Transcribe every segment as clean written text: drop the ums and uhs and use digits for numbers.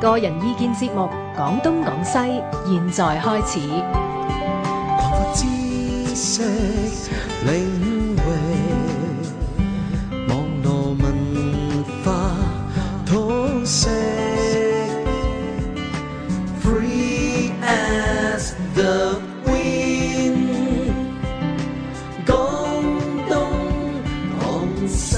個人意見節目《講東講西》，現在開始。 擴闊知識領域，網絡文化通識 ，Free as the wind， 講東講西。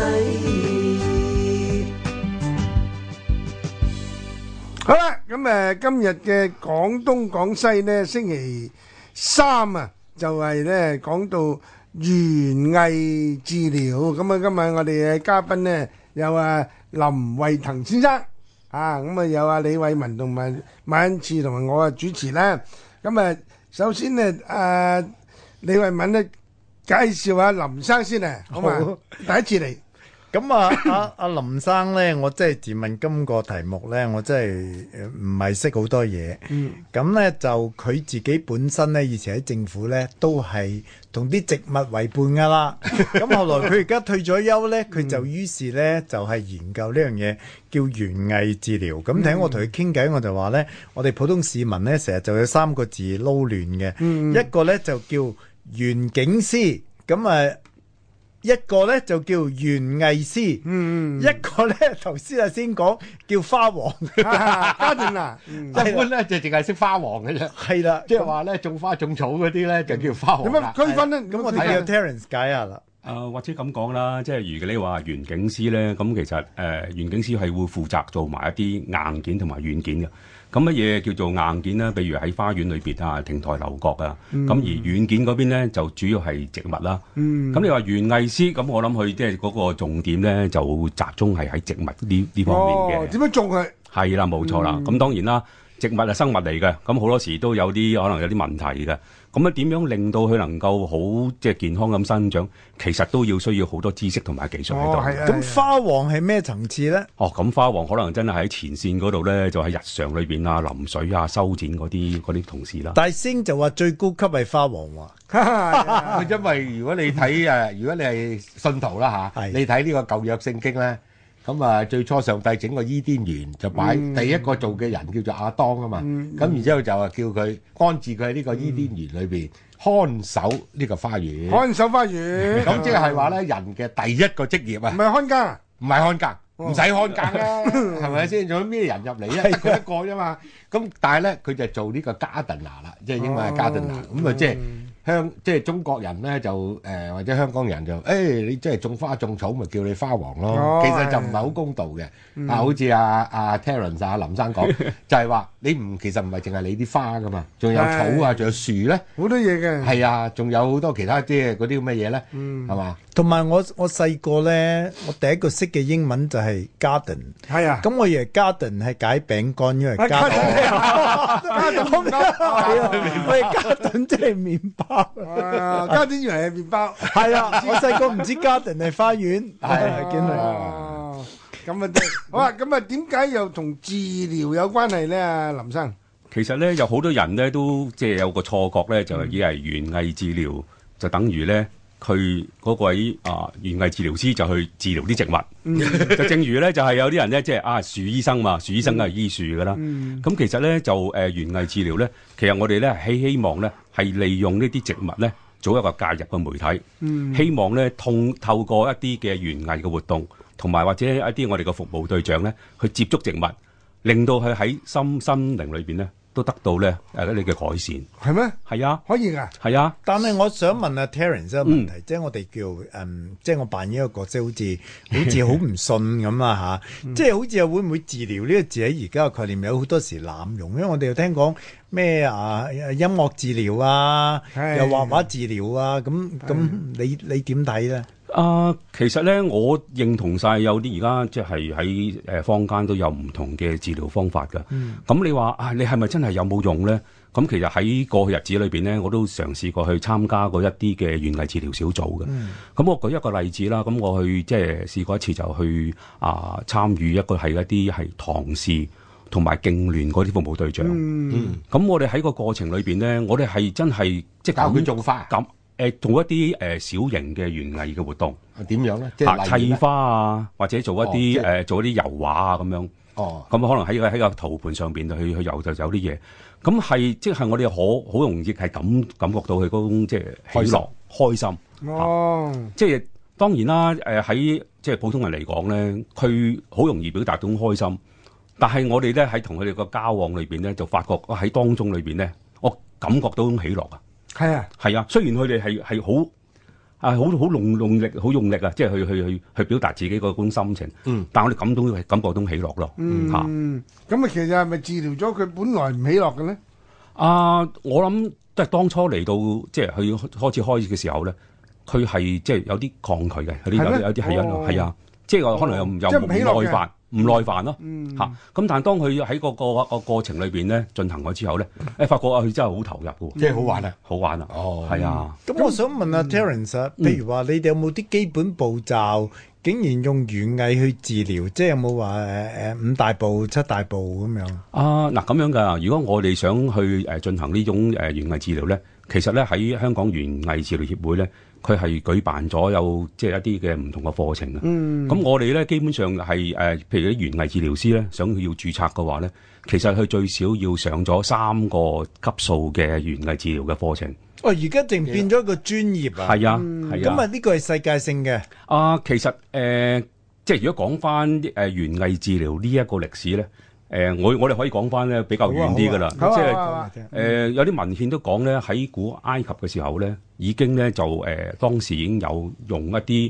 好啦，咁今日嘅廣東廣西呢，星期三啊，就係呢講到園藝治療。咁啊，今日我哋嘅嘉賓呢，有林惠騰先生啊，咁啊有李偉文同埋馬恩賜同埋我主持啦。咁啊，首先呢，李偉文呢介紹下林生先啊，好嘛？第一次嚟。 咁阿林生咧，我真係自問今個題目咧，我真係唔係識好多嘢。咁咧就佢自己本身咧，以前喺政府咧都係同啲植物為伴噶啦。咁後來佢而家退咗休咧，佢就於是咧就係研究呢樣嘢，叫園藝治療。咁聽我同佢傾偈，我就話咧，我哋普通市民咧成日就有三個字撈亂嘅，一個咧就叫園景師，咁一個咧就叫園藝師，一個咧頭先先講叫花王， 家庭啦， 一般咧就淨係識花王嘅啫， 係啦， 即係話咧種花種草嗰啲咧就叫花王啦。 點樣區分咧？ 咁我哋叫 Terence 解下啦。 或者咁講啦，即係如果你話園景師咧，咁其實園景師係會負責做埋一啲硬件同埋軟件嘅。咁乜嘢叫做硬件咧？比如喺花園裏邊啊，亭台樓閣啊。咁而軟件嗰邊咧就主要係植物啦。咁你話園藝師，咁我諗佢即係嗰個重點咧就集中係喺植物呢方面嘅。 點樣種佢？係啦，冇錯啦。咁當然啦，植物係生物嚟嘅，咁好多時都有啲可能有啲問題嘅。咁點樣令到佢能夠好即係健康咁生長？其實都需要好多知識同埋技術喺度。 咁花王係咩層次咧？ 咁花王可能真係喺前線嗰度咧，就喺日常裏邊啊、淋水啊、修剪嗰啲同事啦。 大星就話最高級係花王喎， 因為如果你睇如果你係信徒啦嚇，你睇呢個舊約聖經咧。咁最初上帝整個伊甸園就擺第一個做嘅人叫做亞當啊嘛，咁然之後就叫佢安置佢喺呢個伊甸園裏邊看守呢個花園。 看守花園， 咁即係話咧，人嘅第一個職業啊， 唔係看更， 唔係看更，唔使看更啦，係咪先？仲有咩人入嚟啊？得佢一個啫嘛。咁但係咧，佢就做呢個 gardener 啦，即係英文係 gardener。咁即係中國人咧就或者香港人就你即係種花種草咪叫你花王咯。其實就唔係好公道嘅。好似阿 Terence 林生講，就係話你其實唔係淨係你啲花噶嘛，仲有草啊，仲有樹咧， 好多嘢嘅。 係啊，仲有好多其他即係嗰啲咁嘅嘢咧，係嘛？ 同埋我細個咧，我第一個識嘅英文就係 garden。 係啊， 咁我以為 garden 係解餅乾，因為 garden 即係麵包。 家丁以為係麵包。 係啊，我細個唔知 garden 係花園。係見嚟。 咁好啊！咁點解又同治療有關係咧？啊，林生。 其實咧，有好多人咧都即係有個錯覺咧，就係以為園藝治療就等於咧佢嗰位園藝治療師就去治療啲植物。就正如咧，就係有啲人咧，即係樹醫生嘛，樹醫生梗係醫樹噶啦。咁其實咧就園藝治療咧，其實我哋咧希望咧係利用呢啲植物咧做一個介入嘅媒體。希望咧透過一啲嘅園藝嘅活動，同埋或者一啲我哋嘅服務對象咧去接觸植物，令到佢喺心靈裏邊咧都得到咧一啲嘅改善。 係咩？ 係啊， 可以㗎。 係啊。 但係我想問阿 Terence 一個問題，即係我哋叫即係我扮演一個角色，好似好唔信咁啊嚇！即係好似會唔會治療呢個字喺而家嘅概念有好多時濫用，因為我哋又聽講咩音樂治療啊，又畫畫治療啊，咁你點睇咧？ 其實咧，我認同晒有啲而家即係喺坊間都有唔同嘅治療方法㗎。咁你話你係咪真係有冇用咧？咁其實喺過去日子裏邊咧，我都嘗試過去參加過一啲嘅園藝治療小組嘅。咁我舉一個例子啦。咁我去即係試過一次就去參與一啲係唐氏同埋痙攣嗰啲服務對象。咁我哋喺個過程裏邊咧，我哋係真係即係教佢種花咁。做一啲小型嘅園藝嘅活動， 點樣咧？即係砌花啊，或者做一啲油畫啊咁樣。 哦， 咁可能喺個圖盤上邊去游就有啲嘢，咁係即係我哋好容易係感覺到佢嗰種即係喜樂開心。 哦， 即係當然啦，喺即係普通人嚟講咧，佢好容易表達到開心，但係我哋咧喺同佢哋個交往裏邊咧，就發覺喺當中裏邊咧，我感覺到種喜樂啊。 係啊， 係啊，雖然佢哋係好好用力，好用力啊，即係去表達自己嗰種心情。但係我哋感覺到喜樂咯。 咁啊，其實係咪治療咗佢本來唔喜樂嘅咧？ 我諗都係當初嚟到即係佢開始嘅時候咧。佢係即係有啲抗拒嘅，有啲係啊，即係可能又唔耐煩咯嚇。咁但係當佢喺個過程裏邊咧進行咗之後咧，發覺佢真係好投入嘅， 即係好玩啊， 好玩啊， 哦， 係啊。 咁我想問下 Terence 啊，譬如話你哋有冇啲基本步驟，竟然用園藝去治療，即係有冇話5大步、7大步咁樣？ 嗱咁樣㗎。如果我哋想去進行呢種園藝治療咧，其實咧喺香港園藝治療協會咧。佢係舉辦咗有即係一啲嘅唔同嘅課程啊。咁我哋咧基本上係譬如啲園藝治療師咧，想要註冊嘅話咧，其實佢最少要上咗3個級數嘅園藝治療嘅課程。 而家淨變咗一個專業啊！ 係啊， 咁啊呢個係世界性嘅。 其實即係如果講翻園藝治療呢一個歷史咧。我哋可以講翻咧比較遠啲㗎啦，即係有啲文獻都講咧喺古埃及嘅時候咧，已經咧就當時已經有用一啲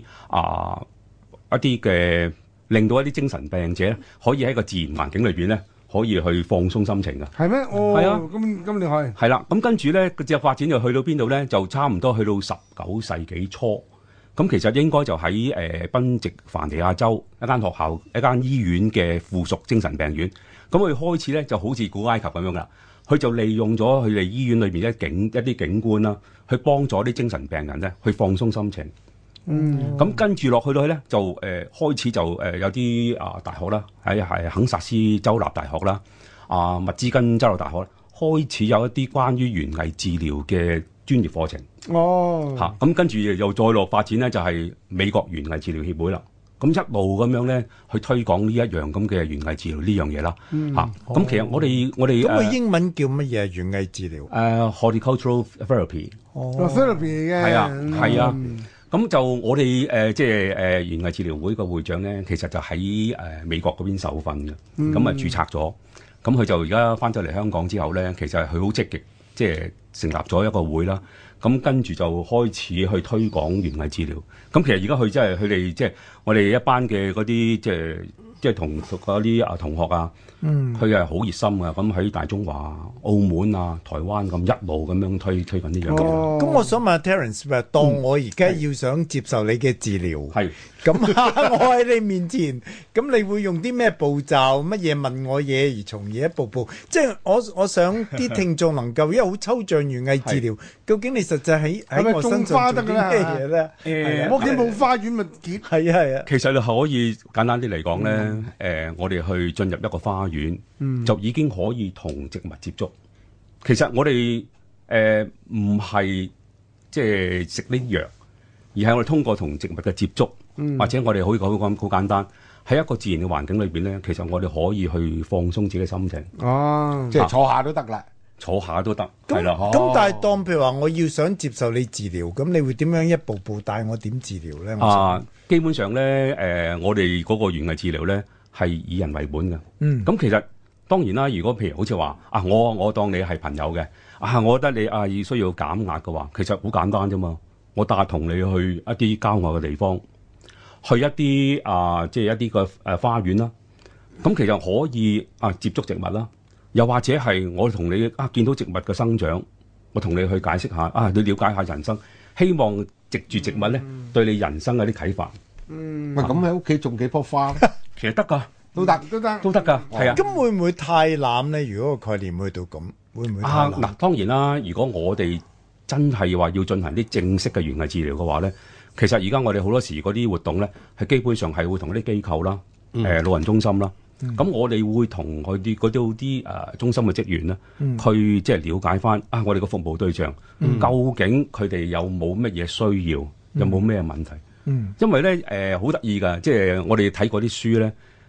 嘅令到一啲精神病者可以喺個自然環境裏邊咧可以去放鬆心情㗎。 係咩？ 係啊， 咁你可以係啦。咁跟住咧個隻發展就去到邊度咧？就差唔多去到19世紀初。咁其實應該就喺賓夕凡尼亞州一間學校、一間醫院嘅附屬精神病院。咁佢開始咧就好似古埃及咁樣啦，佢就利用咗佢哋醫院裏邊一啲景觀啦，去幫助啲精神病人咧去放鬆心情。咁跟住落去咧就開始就有啲大學啦，喺肯薩斯州立大學啦，密茲根州立大學開始有一啲關於園藝治療嘅專業課程。咁跟住又再落發展咧，就係美國園藝治療協會啦。咁一路咁樣咧，去推廣呢一樣咁嘅園藝治療呢樣嘢啦。咁其實我哋咁佢英文叫乜嘢？園藝治療 horticultural therapy。 therapy 嘅係啊。咁就我哋即係園藝治療會個會長咧，其實就喺美國嗰邊受訓嘅，咁啊註冊咗。咁佢就而家翻咗嚟香港之後咧，其實佢好積極，即係成立咗一個會啦。咁跟住就開始去推廣園藝治療。咁其實而家佢真係佢哋即係我哋一班嘅嗰啲即係同嗰啲同學啊，佢係好熱心啊。咁喺大中華、澳門啊、台灣咁一路咁樣推緊呢樣嘢。 咁我想問下 Terence，當我而家要想接受你嘅治療，咁我喺你面前，咁你會用啲咩步驟？乜嘢問我嘢，而從而一步步，即係我想啲聽眾能夠，因為好抽象園藝治療，究竟你實際喺我身上做啲咩嘢咧？ 我屋企冇花園咪結？ 係啊。 其實你可以簡單啲嚟講咧，我哋去進入一個花園，就已經可以同植物接觸。其實我哋唔係即係食啲藥，而係我哋通過同植物嘅接觸，或者我哋可以講好簡單，喺一個自然嘅環境裏邊咧，其實我哋可以去放鬆自己嘅心情。 即係坐下都得啦。 坐下都得，係啦。 咁但係當譬如話我要想接受你治療，咁你會點樣一步步帶我點治療咧？ 基本上咧，我哋嗰個園藝治療咧係以人為本嘅。咁其實當然啦，如果譬如好似話我當你係朋友嘅，我覺得你需要減壓嘅話，其實好簡單啫嘛。我帶同你去一啲郊外嘅地方，去一啲即係一啲嘅花園啦。咁其實可以接觸植物啦。又或者係我同你見到植物嘅生長，我同你去解釋下你了解下人生，希望藉住植物咧對你人生有啲啟發。 咁喺屋企種幾棵花， 其實得㗎， 都得㗎，係啊。 咁會唔會太濫咧？如果個概念去到咁，會唔會太濫？ 嗱，當然啦。如果我哋真係話要進行啲正式嘅園藝治療嘅話咧，其實而家我哋好多時嗰啲活動咧，係基本上係會同啲機構啦、老人中心啦。咁我哋會同佢哋嗰啲中心嘅職員咧，去即係了解翻我哋個服務對象究竟佢哋有冇乜嘢需要，有冇咩問題？因為咧好得意㗎，即係我哋睇嗰啲書咧，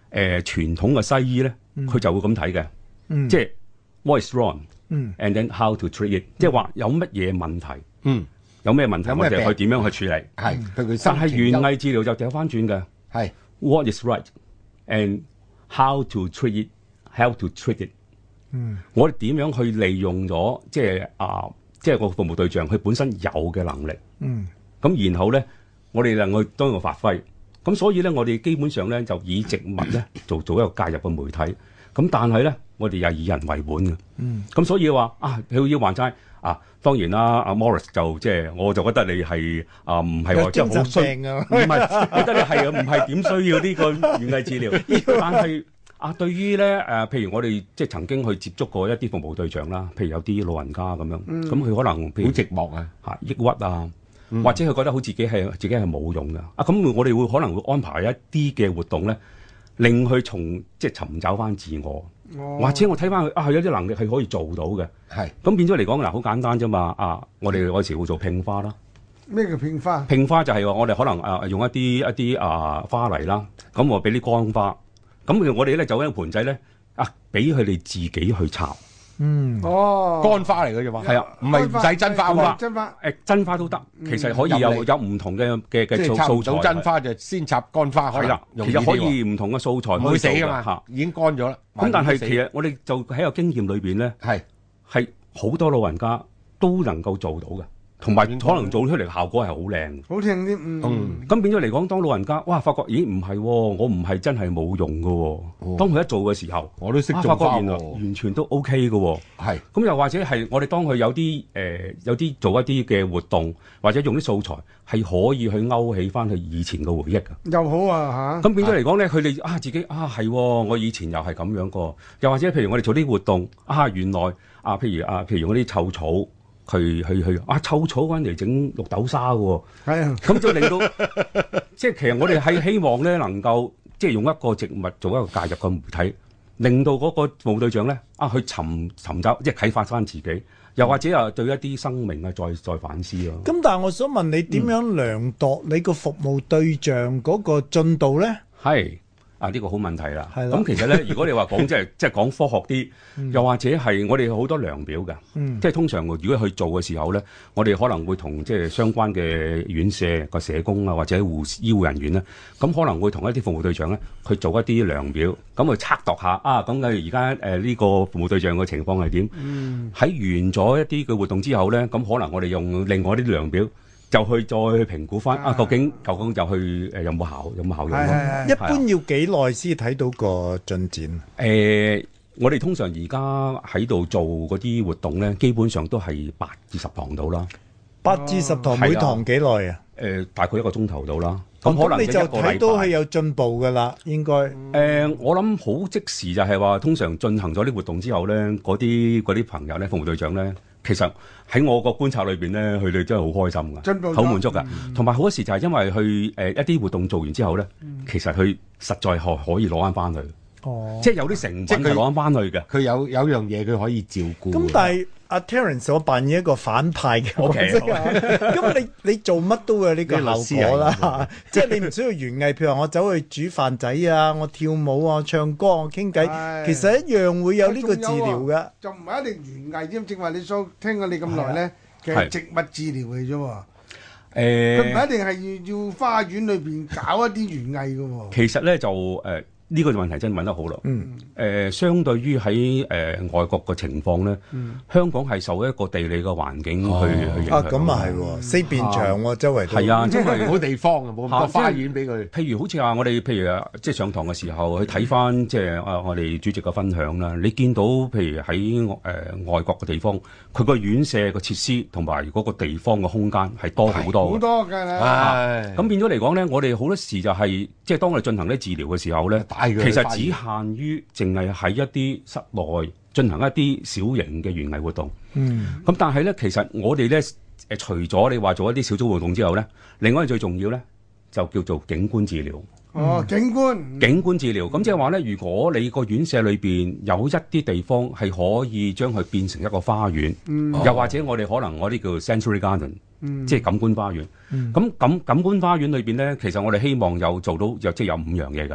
傳統嘅西醫咧，佢就會咁睇嘅，即係 what is wrong，and then how to treat it，即係話有乜嘢問題，有咩問題我哋去點樣去處理。 係，佢但係園藝治療就掉翻轉嘅， 係 what is right and how to treat it，how to treat it。我哋點樣去利用咗即係個服務對象佢本身有嘅能力，咁然後咧我哋能夠當個發揮。咁所以咧，我哋基本上咧就以植物咧做一個介入嘅媒體。咁但係咧，我哋又以人為本嘅。咁所以話佢要還債當然啦，阿 Morris 就即係我就覺得你係唔係話即係好需，唔係覺得你係唔係點需要呢個園藝治療？但係對於咧譬如我哋即係曾經去接觸過一啲服務對象啦，譬如有啲老人家咁樣，咁佢可能譬如好寂寞抑鬱啊。或者佢覺得好自己係冇用㗎咁我哋會可能會安排一啲嘅活動咧，令佢即係尋找翻自我，或者我睇翻佢有啲能力係可以做到嘅。係咁變咗嚟講好簡單啫嘛。我哋有時會做拼花啦。 咩叫拼花？拼花就係話我哋可能用一啲花泥啦，咁我俾啲乾花，咁我哋咧就一個盆仔咧俾佢哋自己去插。 乾花嚟嘅啫嘛，係唔係唔使真花喎？ 真花都得，其實可以有唔同嘅素材。 真花就先插乾花， 係啦，其實可以唔同嘅素材， 唔會死㗎嘛，已經乾咗啦。 咁但係其實我哋就喺個經驗裏邊咧，係好多老人家都能夠做到嘅。同埋可能做出嚟效果係好靚， 好聽啲。 咁變咗嚟講，當老人家發覺咦唔係，我唔係真係冇用嘅。當佢一做嘅時候， 我都識做花， 原來完全都 OK 嘅。 係咁又或者係我哋當佢有啲做一啲嘅活動，或者用啲素材係可以去勾起翻佢以前嘅回憶嘅。 又好啊咁變咗嚟講咧，佢哋自己係我以前又係咁樣過。又或者譬如我哋做啲活動原來譬如嗰啲臭草。去臭草揾嚟整綠豆沙嘅喎， 係啊， 咁就令到即係其實我哋係希望咧能夠即係用一個植物做一個介入嘅媒體，令到嗰個服務對象咧去尋找即係啟發翻自己，又或者對一啲生命再反思咯。 咁但係我想問你點樣量度你個服務對象嗰個進度咧？ 係。呢個好問題啦。咁其實咧，如果你話講即係講科學啲，又或者係我哋好多量表嘅，即係通常如果去做嘅時候咧，我哋可能會同即係相關嘅院舍個社工或者醫護人員咧，咁可能會同一啲服務對象咧去做一啲量表，咁去測度下咁而家呢個服務對象嘅情況係點？喺完咗一啲嘅活動之後咧，咁可能我哋用另外啲量表。就去再去評估翻究竟就去有冇效用咯？ 一般要幾耐先睇到個進展？ 我哋通常而家喺度做嗰啲活動咧，基本上都係8至10堂到啦。 8至10堂，每堂幾耐啊？ 大概1個鐘頭到啦。 咁可能你就睇到係有進步噶啦，應該。 我諗好即時就係話，通常進行咗啲活動之後咧，嗰啲朋友咧，服務對象咧。其實喺我個觀察裏邊咧，佢哋真係好開心㗎，好滿足㗎。同埋好多時就係因為去一啲活動做完之後咧，其實佢實在可以攞翻去。即係有啲成品係攞翻去嘅。佢有樣嘢佢可以照顧。 咁但係阿 Terence 我扮演一個反派嘅角色啊。咁你做乜都會有呢個效果啦。即係你唔需要園藝，譬如話我走去煮飯仔啊，我跳舞啊，唱歌我傾偈，其實一樣會有呢個治療嘅。 就唔係一定園藝添，正話你所聽過你咁耐咧，其實植物治療嚟啫喎。佢唔係一定係要花園裏邊搞一啲園藝嘅喎。 其實咧就呢個問題真係問得好咯。相對於喺外國嘅情況咧，香港係受一個地理嘅環境去影響。 咁啊係喎，四邊牆喎，周圍都係啊，因為冇地方啊，冇咁多花園俾佢。 譬如好似話我哋譬如即係上堂嘅時候去睇翻即係我哋主席嘅分享啦，你見到譬如喺外國嘅地方，佢個院舍嘅設施同埋嗰個地方嘅空間係多好多。 好多㗎啦。 咁變咗嚟講咧，我哋好多時就係即係當我哋進行啲治療嘅時候咧。其實只限於淨係喺一啲室內進行一啲小型嘅園藝活動。咁但係咧，其實我哋咧除咗你話做一啲小組活動之後咧，另外最重要咧就叫做景觀治療。 景觀治療。咁即係話咧，如果你個院舍裏邊有一啲地方係可以將佢變成一個花園，又或者我哋可能啲叫 sensory garden，即係感官花園。咁感官花園裏邊咧，其實我哋希望有做到即係有5樣嘢㗎。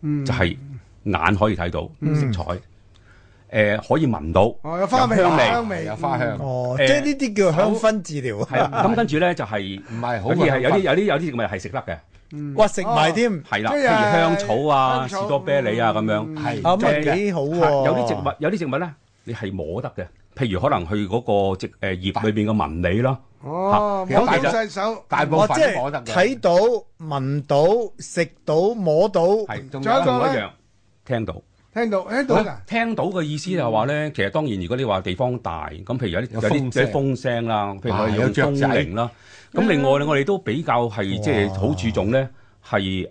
就係眼可以睇到色彩，可以聞到， 哦，有花味， 有香味香味， 有花香， 哦，即係呢啲叫香薰治療係啦。咁跟住咧就係唔係好有啲係有啲植物係食得嘅， 哇，食埋添， 係啦， 即係譬如香草啊、 香草士多啤梨啊咁樣。 係咁啊幾好喎。 有啲植物咧，你係摸得嘅，譬如可能去嗰個葉裏邊嘅紋理啦。 哦， 其實摸到晒手， 大部我即係分都摸得嘅。 睇到、聞到、食到、摸到， 係，仲仲有一個呢有一樣聽到。 聽到㗎， 聽到嘅意思就係話咧，其實當然如果你話地方大，咁譬如有啲風聲啦，譬如我哋用風鈴啦。咁另外咧，我哋都比較係即係好注重咧，係